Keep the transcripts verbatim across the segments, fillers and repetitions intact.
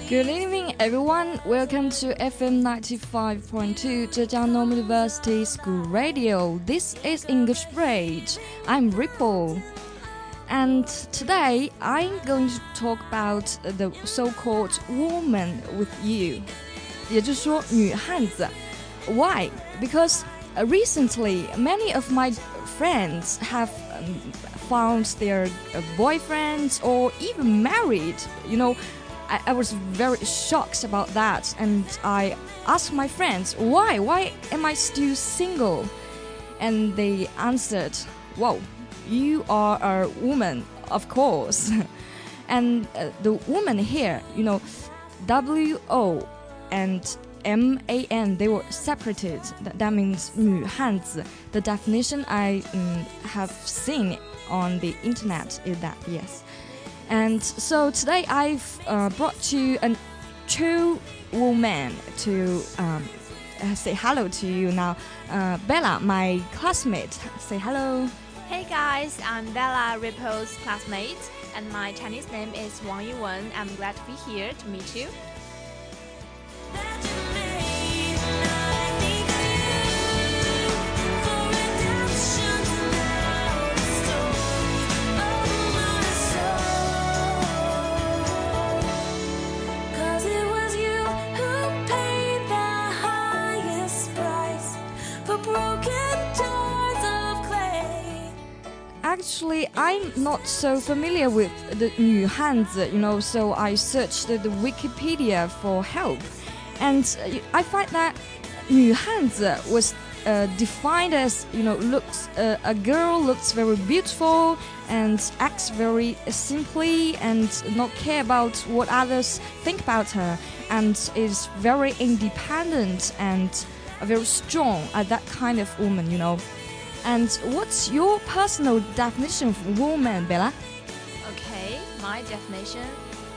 Good evening, everyone. Welcome to F M ninety-five point two Zhejiang Normal University School Radio. This is English Bridge. I'm Ripple. And today I'm going to talk about the so-called woman with you. 也就是说女汉子. Why? Because uh, recently many of my friends have um, found their uh, boyfriends or even married. You know, I, I was very shocked about that, and I asked my friends, why? Why am I still single? And they answered, whoa, you are a woman, of course. And uh, the woman here, you know, W O and M A N, they were separated. That, that means 女汉子. The definition I um, have seen on the internet is that, yes. And so today I've uh, brought you a true woman to um, say hello to you now. Uh, Bella, my classmate, say hello. Hey guys, I'm Bella, Ripple's classmate, and my Chinese name is Wang Yuwen. I'm glad to be here to meet you. Actually, I'm not so familiar with the 女汉子, you know, so I searched the Wikipedia for help. And I find that 女汉子 was uh, defined as, you know, looks uh, a girl looks very beautiful and acts very simply and not care about what others think about her, and is very independent and very strong, uh, that kind of woman, you know. And what's your personal definition of woman, Bella? Okay, my definition.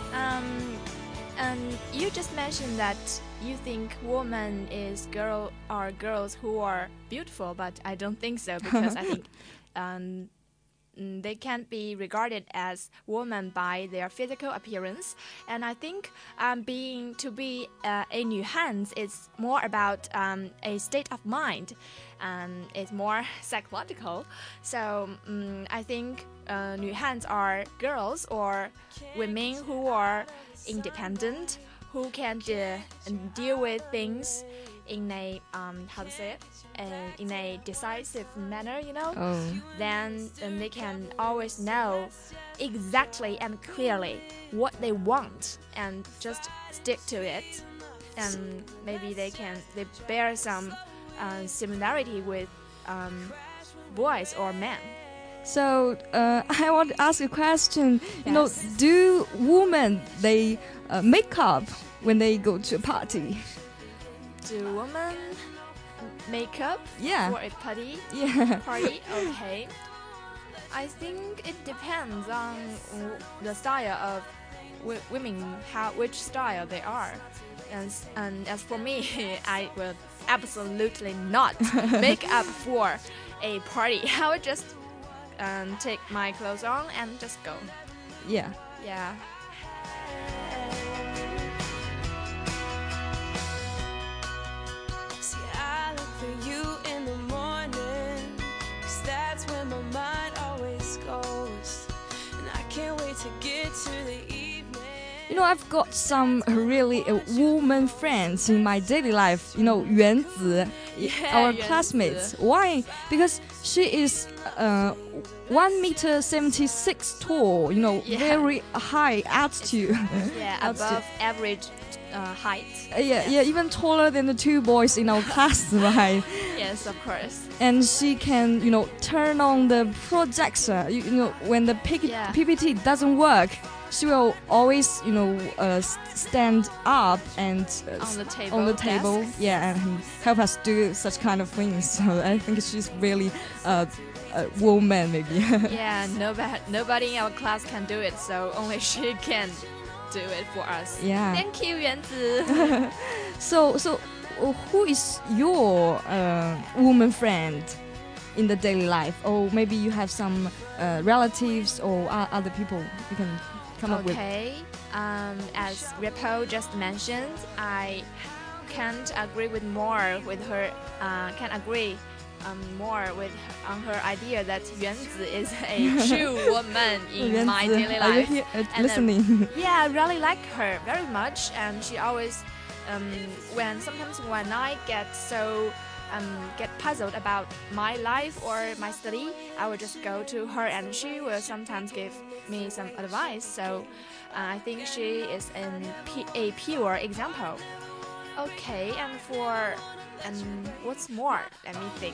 Um, and you just mentioned that you think woman is girl are girls who are beautiful, but I don't think so, because I think um, they can't be regarded as women by their physical appearance. And I think um, being to be uh, a 女汉子 is more about um, a state of mind. Um, it's more psychological. So um, I think uh, 女汉子 are girls or women who are independent, who can de- deal with things in a um, how to say it, uh, in a decisive manner, you know. Oh. Then, then they can always know exactly and clearly what they want and just stick to it. And maybe they can they bear some uh, similarity with um, boys or men. So uh, I want to ask a question. Yes. You know, do women they uh, make up when they go to a party? Do women make up Yeah. for a party? Yeah. Party? Okay. I think it depends on w- the style of w- women, how which style they are. And, and as for me, I will absolutely not make up for a party. I would just um, take my clothes on and just go. Yeah. Yeah. You know, I've got some really uh, woman friends in my daily life. You know, Yuan Zi, Yeah, our Yuan classmates. Zi. Why? Because she is uh, one meter seventy six tall. You know, Yeah. very high altitude. Yeah, Altitude. above average uh, height. Uh, yeah, yeah, even taller than the two boys in our class, right? Yes, of course. And she can, you know, turn on the projector. You, you know, when the P- Yeah. P P T doesn't work, she will always, you know, uh, stand up and uh, On the table. on the table, desk. yeah, and help us do such kind of things. So I think she's really uh, a woman, maybe. Yeah, nobody, nobody in our class can do it, so only she can do it for us. Yeah. Thank you, Yuanzi. So, so uh, who is your uh, woman friend in the daily life? Or maybe you have some uh, relatives or uh, other people you can come up with? Okay, um, as Repo just mentioned, I can't agree with more with her. Uh, can agree um, more with on her idea that Yuanzi is a true woman in my daily Are you life. here, uh, And, listening? Um, yeah, I really like her very much, and she always, um, when sometimes when I get so um, get puzzled about my life or my study, I will just go to her, and she will sometimes give me some advice. So uh, I think she is an, a pure example. Okay, and for and what's more? Let me think.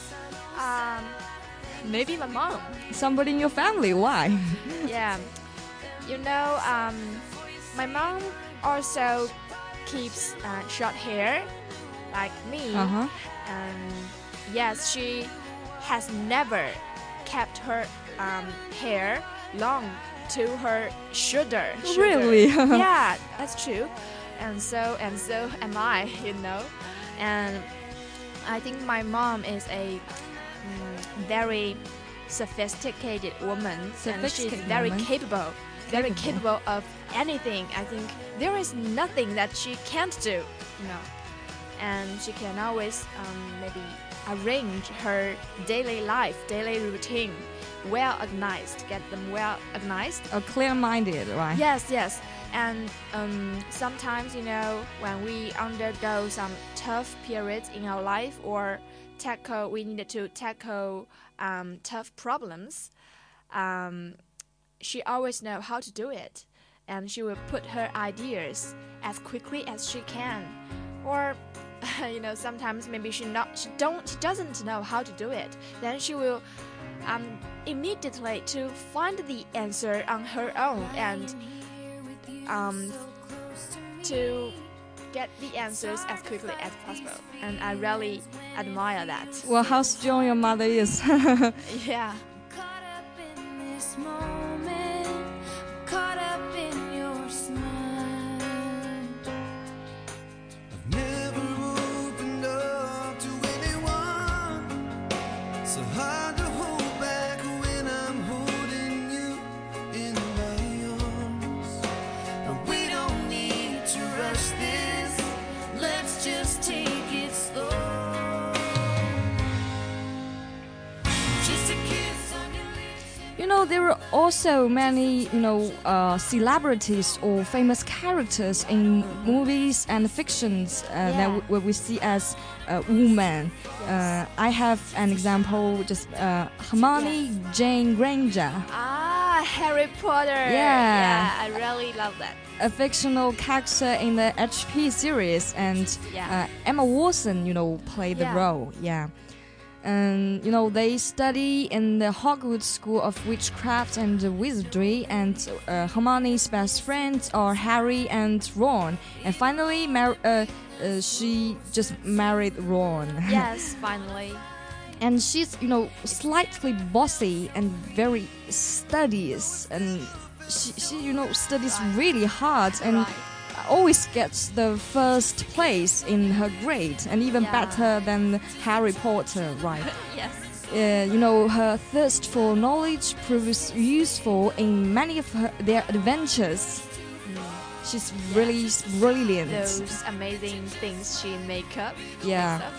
Um, maybe my mom. Somebody in your family? Why? Yeah, you know, um, my mom also keeps uh, short hair, like me. Uh-huh. And yes, she has never kept her um, hair long to her shoulder. shoulder. Really? Yeah, that's true. And so and so am I, you know. And I think my mom is a mm, very sophisticated woman, Sophisticated and she's very woman. capable, very Capable. capable of anything. I think there is nothing that she can't do, you know. And she can always um, maybe arrange her daily life, daily routine, well organized, get them well organized. A clear-minded, right? Yes, yes. And um, sometimes, you know, when we undergo some tough periods in our life or tackle, we needed to tackle um, tough problems, um, she always know how to do it. And she will put her ideas as quickly as she can. Or, you know, sometimes maybe she not, she don't, she doesn't know how to do it. Then she will um, immediately to find the answer on her own and um, to get the answers as quickly as possible. And I really admire that. Well, how strong your mother is. Yeah. Caught up in this moment, caught up in your smile. I've never opened up to anyone. So hard to hold back when I'm holding you in my arms. But we don't need to rush this. Let's just take it slow. Just a kiss on your lips. You know, there are also many, you know, uh, celebrities or famous characters in movies and fictions uh, Yeah. that w- we see as uh, women. Uh, I have an example, just uh, Hermione Jane Granger, Ah, Harry Potter. Yeah. Yeah, I really love that. a fictional character in the H P series, and Yeah. uh, Emma Watson, you know, played the Yeah. role. Yeah. And you know, they study in the Hogwarts School of Witchcraft and Wizardry, and uh, Hermione's best friends are Harry and Ron. And finally, mar- uh, uh, she just married Ron. Yes, finally. And she's, you know, slightly bossy and very studious, and she, she you know, studies Right. really hard and Right. always gets the first place in her grade, and even Yeah. better than Harry Potter, right? Yes. Uh, you know, her thirst for knowledge proves useful in many of her, their adventures. She's really brilliant. Those amazing things she make up. Yeah. Stuff.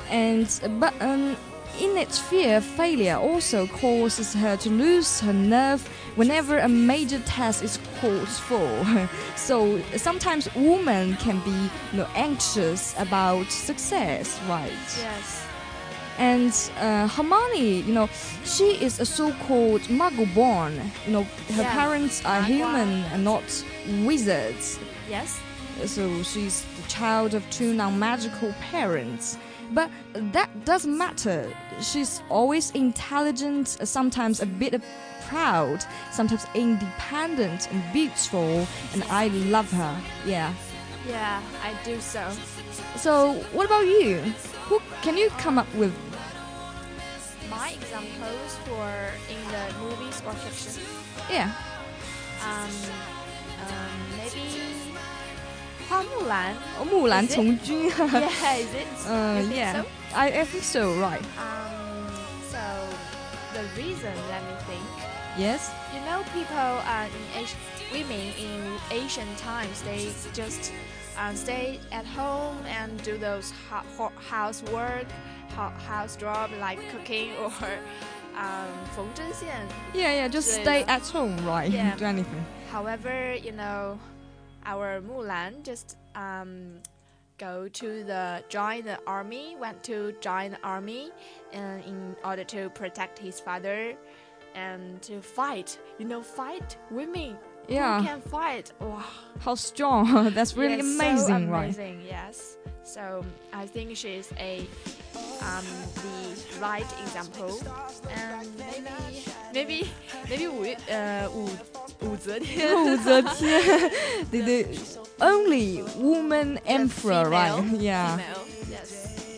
And but um, in its fear, failure also causes her to lose her nerve whenever a major test is called for. So sometimes women can be, you know, anxious about success, right? Yes. And uh, Hermione, you know, she is a so-called Muggle-born. You know, her Yeah. parents are Magua. human and not wizards. Yes. So she's the child of two non-magical parents. But that doesn't matter. She's always intelligent, sometimes a bit proud, sometimes independent and beautiful, and I love her. Yeah. Yeah, I do so. So what about you? Who can you come up with? My examples for in the movies or fiction. Yeah. Um, um maybe 花木兰. 哦，木兰 Is it? 从军。 Yeah, is it? Uh, You think yeah. so? I, I think so, right. Um, so the reason, let me think. Yes. You know, people uh, in Asian, women in Asian times, they just uh, stay at home and do those ho- ho- housework, ho- house job like cooking or um, 缝针线. Yeah, yeah, just stay at home, right? Yeah. Do anything. However, you know, our Mulan just um, go to the join the army, went to join the army, and in order to protect his father and to fight. You know, fight women. Yeah. Who can fight? Wow. How strong. That's really Yes, amazing, so right? amazing, yes. So I think she's a um, the right example, and maybe maybe maybe 武呃武武则天武则天 the, the only woman emperor, female, right? Yeah. Female, yes.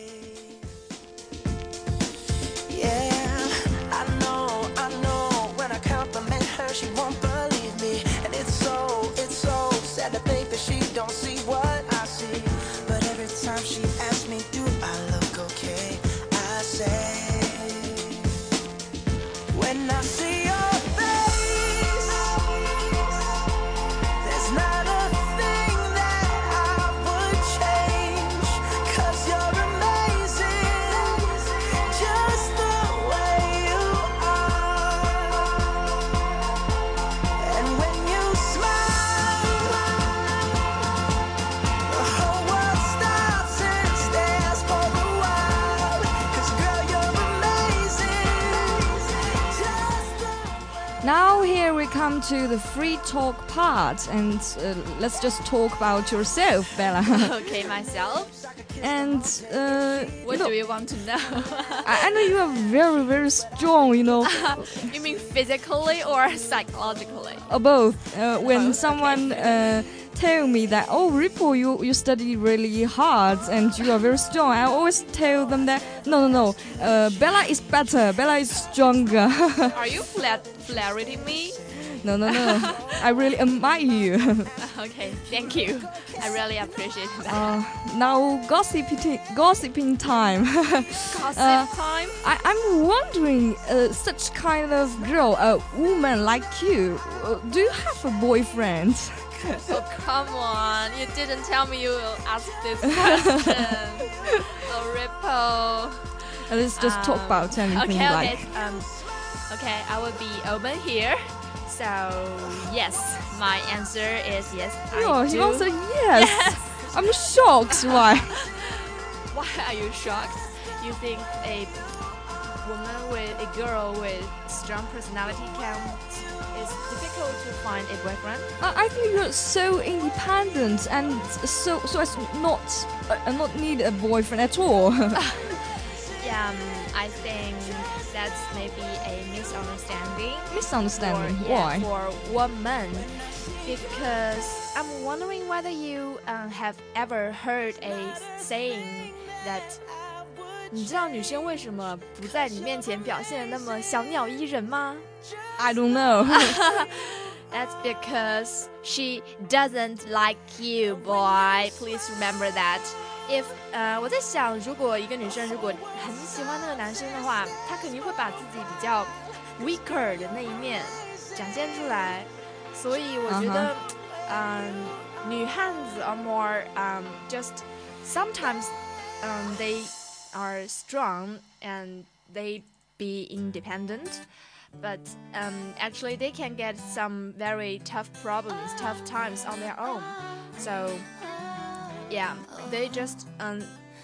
Yeah, I know, I know. When I compliment her, she won't believe me, and it's so, it's so sad to think that she don't see what I see. But every time she asks me, do I look okay? I say, when I see your face, there's not a thing that I would change, 'cause you're amazing, just the way you are. And when you smile, the whole world stops and stares for a while, 'cause girl, you're amazing, just the Now here we come to the free talk part, and uh, let's just talk about yourself, Bella. Okay, myself. and uh, What you know, do you want to know? I, I know you are very, very strong. You know, You mean physically or psychologically? uh, both. Uh, when Both, someone uh, tell me that, oh, Ripple, you you study really hard and you are very strong, I always tell them that no, no, no. Uh, Bella is better. Bella is stronger. Are you flat flirting me? No, no, no. I really admire you. Okay, thank you. I really appreciate that. Uh, now gossiping, gossiping time. Gossip uh, time? I, I'm wondering, uh, such kind of girl, a woman like you, uh, do you have a boyfriend? Oh, come on. You didn't tell me you will ask this question. Oh, Ripple. Uh, let's just talk Um, about anything okay, like. okay. Um, okay, I will be open here. So, yes, my answer is yes, Oh, I he do. answered yes. I'm shocked. Why? Why are you shocked? You think a woman with a girl with strong personality can it's difficult to find a boyfriend? I, I think you're so independent and so so as not uh, not need a boyfriend at all. Yeah, um, I think that's maybe a misunderstanding. Misunderstanding. For, yeah, Why? for women, because I'm wondering whether you uh, have ever heard a saying that 你知道女生为什么不在你面前表现得那么小鸟依人吗？ I don't know. That's because she doesn't like you, boy. Please remember that. If 呃，我在想，如果一个女生如果很喜欢那个男生的话，她肯定会把自己比较 weaker 的那一面展现出来。所以我觉得，嗯、女汉子 are more um just sometimes um they are strong and they be independent. But um, actually, they can get some very tough problems, tough times on their own. So, yeah, they just um,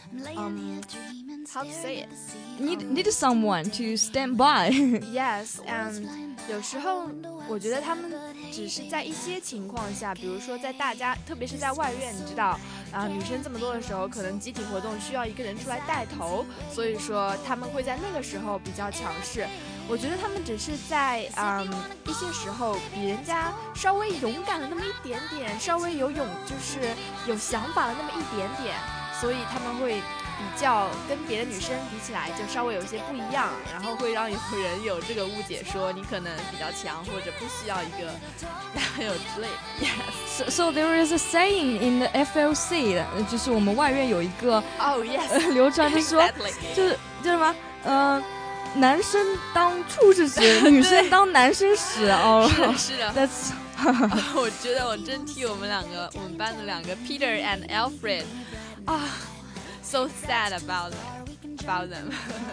um how to say it? Need need someone to stand by. Yes, and 有时候我觉得他们只是在一些情况下，比如说在大家，特别是在外院，你知道，啊、女生这么多的时候，可能集体活动需要一个人出来带头，所以说他们会在那个时候比较强势。我觉得他们只是在嗯一些时候比人家稍微勇敢了那么一点点，稍微有勇就是有想法了那么一点点，所以他们会比较跟别的女生比起来就稍微有些不一样，然后会让有人有这个误解，说你可能比较强或者不需要一个男朋友之类的。Yes. So, so there is a saying in the F L C， 呃就是我们外院有一个 Oh yes. 呃流传，就是说 Exactly. 就是就是什么呃男生当畜生使，女生当男生使哦。 是的，是的。 That's 我觉得我真替我们两个，我们班的两个 Peter and Alfred 啊 ，so sad about about them.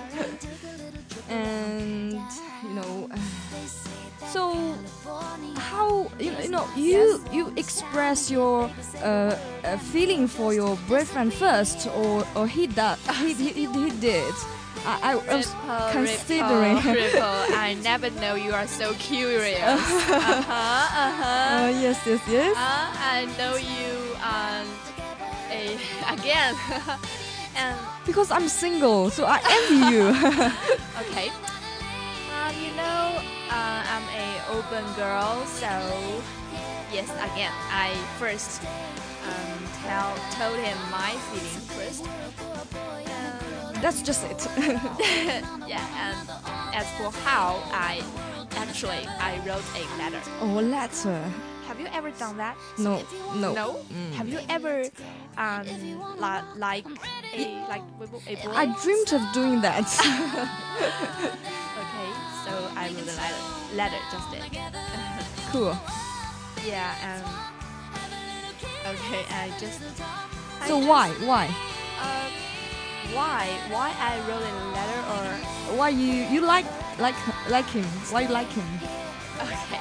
and you know, so how you know, you know you you express your uh, uh, feeling for your boyfriend first, or or he that he he, he did. I, I was Ripple, considering. Ripple, Ripple. I never know you are so curious. uh-huh, uh-huh. Uh, yes, yes, yes. Uh, I know you um, a, again. and Because I'm single, so I envy you. okay. Um, you know, uh, I'm a open girl, so yes, again, I first um, tell told him my feeling first. Um, That's just it. yeah, and as for how I actually I wrote a letter. Oh, letter. Have you ever done that? No, no. No. Mm. Have you ever um li- like a like a boy? I dreamed of doing that. Okay, so I wrote a letter. Letter just it. Cool. Yeah, and okay, I just. I So just, why, why, Uh, why? Why I wrote a letter or? why you you like like like him? Why you like him? Okay.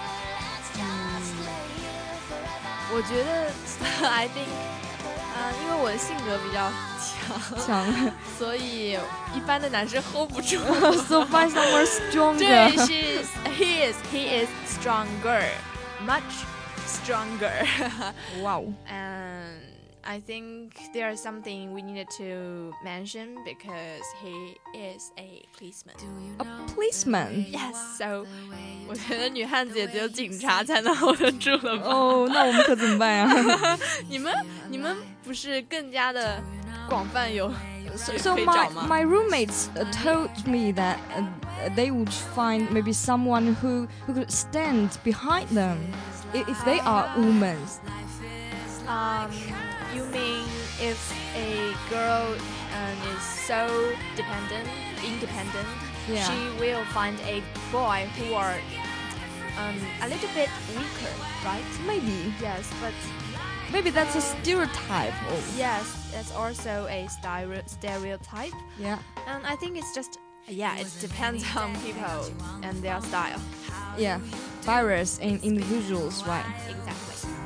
我觉得 I think 啊、因为我的性格比较强， 强所以一般的男生 hold 不住。 So find someone 对 stronger. ，she is, he is, he is stronger, much stronger. Wow. And I think there is something we needed to mention because he is a policeman. A policeman. Yes, so 我觉得女汉子也只有警察才能 hold 得住了吧？ 哦，那我们可怎么办呀你们你们不是更加的广泛有 So, so 可以 my 找吗？ my roommates uh, told me that uh, they would find maybe someone who who could stand behind them if, if they are women. Um, you mean if a girl um, is so dependent, independent, Yeah. she will find a boy who are um, a little bit weaker, right? Maybe Yes, but maybe that's a stereotype. Oh, yes, that's also a stereo- stereotype. yeah, And I think it's just, yeah, it depends on people and their style. yeah. Virus in individuals, right? Exactly.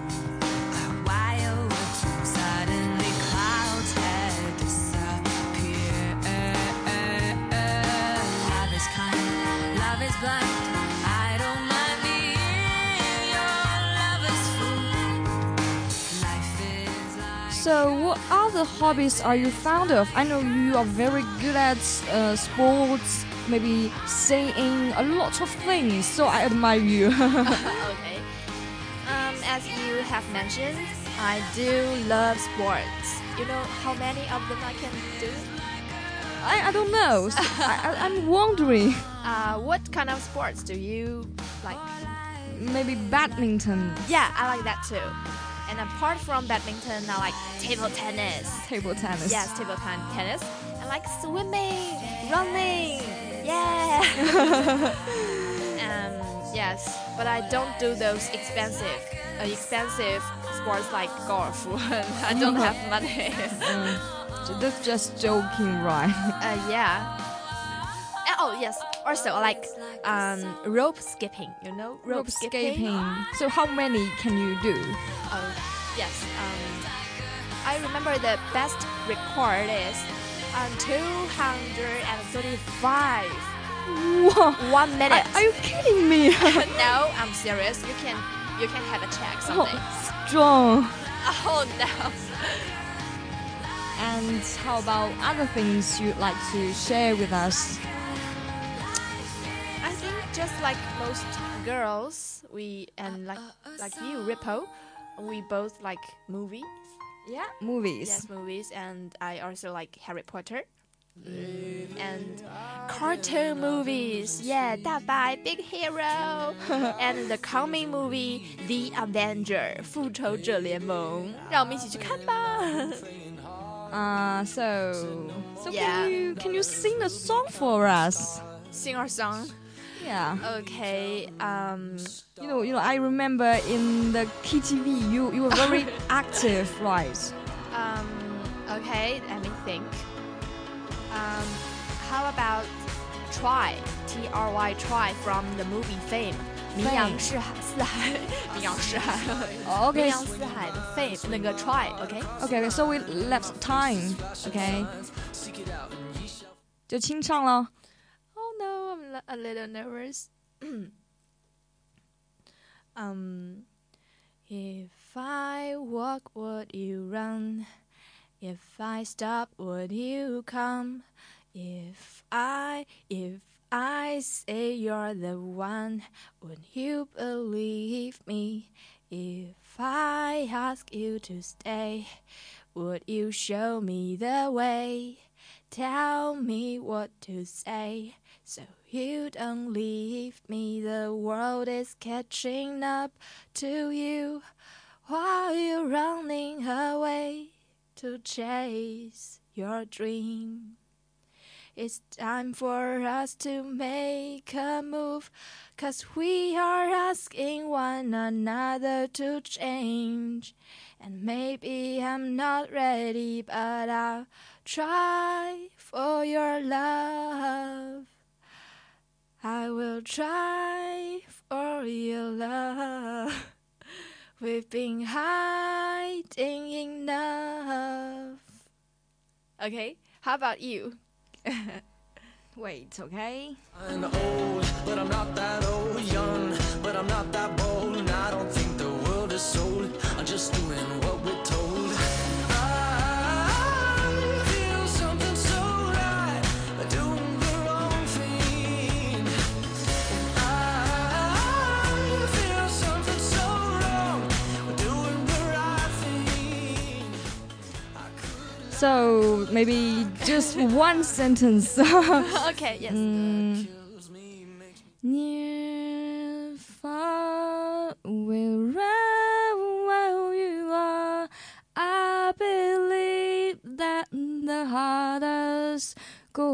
Suddenly clouds had disappeared. Love is kind, love is blind. I don't mind being your lover's fool. Life is like So, what other hobbies are you fond of? I know you are very good at uh, sports, maybe singing, a lot of things. So I admire you. Okay. Um, as you have mentioned, I do love sports. You know how many of them I can do? I, I don't know. So I, I, I'm wondering. Uh, what kind of sports do you like? Maybe badminton, Yeah, I like that too. And apart from badminton, I like table tennis. table tennis. Yes, table ten- tennis. I like swimming, running. Yeah. um, yes, but I don't do those expensive, uh, expensive sports like golf. I don't have money. Mm, so that's just joking, right? uh, yeah. Uh, Oh yes. Also, I like um, rope skipping. You know, rope, skipping. So how many can you do? Oh, yes. Um, I remember the best record is um, two hundred thirty-five. Wow. One minute. Are, are you kidding me? No, I'm serious. You can you can have a check someday. Oh, strong. Oh no. And how about other things you'd like to share with us? I think just like most girls, we and like like you, Rippo, we both like movies. Yeah, movies. Yes, movies, and I also like Harry Potter. And cartoon movies, yeah, 大白 Big Hero, and the coming movie The Avenger 复仇者联盟，让我们一起去看吧。 Uh, so, so Yeah. can you can you sing a song for us? sing our song. Yeah. Okay. Um. You know, you know. I remember in the K T V, you you were very active, right? Um. Okay. Let me think. Um. How about Try? T R Y Try from the movie Fame. 名扬四海，四海，名扬四海， Okay. 名扬四海的 Fame 那个 Try，OK？、Okay? Okay, so we left time. Okay. 就清唱了。 Oh no, I'm a little nervous. um, if I walk, would you run? If I stop, would you come? If I, if I say you're the one, would you believe me? If I ask you to stay, would you show me the way? Tell me what to say, so you don't leave me. The world is catching up to you while you're running away to chase your dream. It's time for us to make a move, 'cause we are asking one another to change. And maybe I'm not ready, but I'll try for your love. I will try for your love. We've been hiding enough. Okay, how about you? Wait, okay. I'm old, but I'm not that old. Young, but I'm not that bold. And I don't think the world is sold. I'm just doing what we're told. I feel something so right, doing the wrong thing. I feel something so wrong, doing the right thing. So maybe just one sentence. Okay, yes. Mm. Near, far, wherever you are, I believe that the heart does go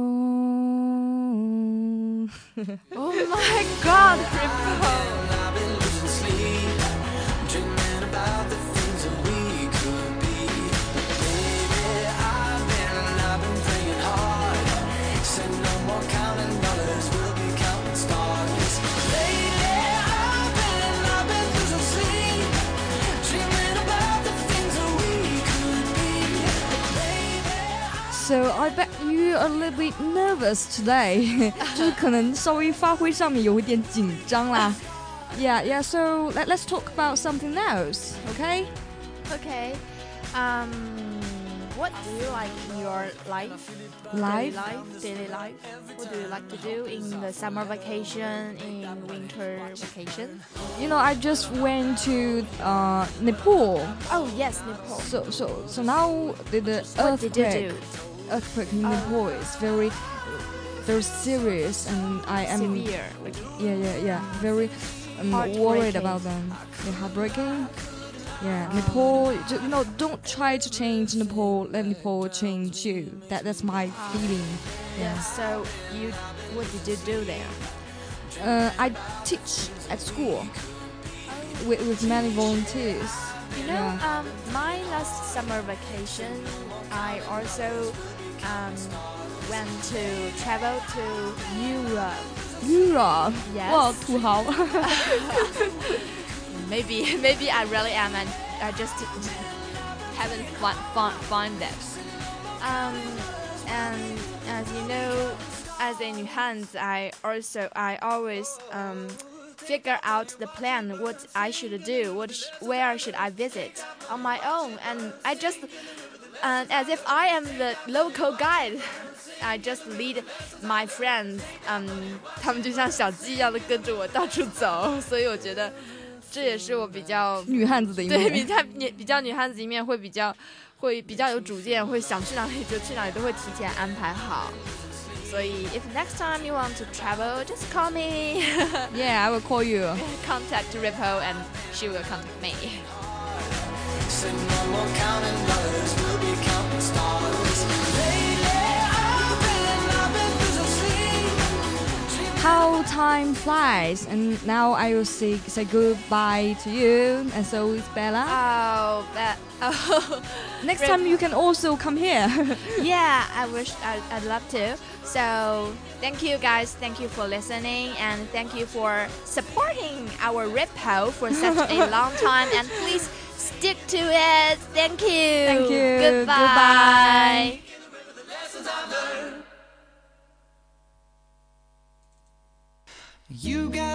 on. Oh my God, Ripple. I've been losing sleep, dreaming about the things that we could be. Baby, I've been, I've been praying hard. Said no more counting dollars, we'll be counting stars. Lately, I've been, I've been losing sleep, dreaming about the things that we could be. Baby, So I bet you are a little bit nervous today. 就是可能稍微发挥上面有一点紧张啦。Yeah, yeah. So let, let's talk about something else, okay? Okay. Um, what do you like in your life? Life? Daily life, daily life. What do you like to do in the summer vacation, in winter vacation? You know, I just went to uh, Nepal. Oh yes, Nepal. So, so, so now the, the What did you earthquake, do? earthquake in Nepal is very, very serious, and I am Severe. yeah, yeah, yeah, very um, Heartbreaking. worried about them. They're heartbreaking. Yeah, Nepal. ju- You know, don't try to change Nepal. Let Nepal change you. That that's my feeling. Yeah. So you, what did you do there? Uh, I teach at school with, with many volunteers. You know, Yeah. um, my last summer vacation, I also um, went to travel to Europe. Europe. Yes. 哇，土豪。 Maybe, maybe I really am, and I just haven't find find, find that. Um, and as you know, as a new hands, I also I always um figure out the plan what I should do, what sh where should I visit on my own, and I just and as if I am the local guide. I just lead my friends， 嗯、um, 他们就像小鸡一样的跟着我到处走，所以我觉得这也是我比较女汉子的一对比面。 较女比较女汉子一面，会比较会比较有主见，会想去哪里就去哪里，都会提前安排好。所以 if next time you want to travel, just call me. Yeah, I will call you. Contact Ripple and she will contact me. said no more counting dollars, we'll be counting stars. Lately, I've been, I've been losing sleep, time flies, and now I will say, say goodbye to you, and so is Bella. Oh, that. Oh. Next Rip- time you can also come here. Yeah, I wish I'd, I'd love to. So thank you guys, thank you for listening, and thank you for supporting our Rippo for such a long time. And please stick to it. Thank you. Thank you. Goodbye. Goodbye. You got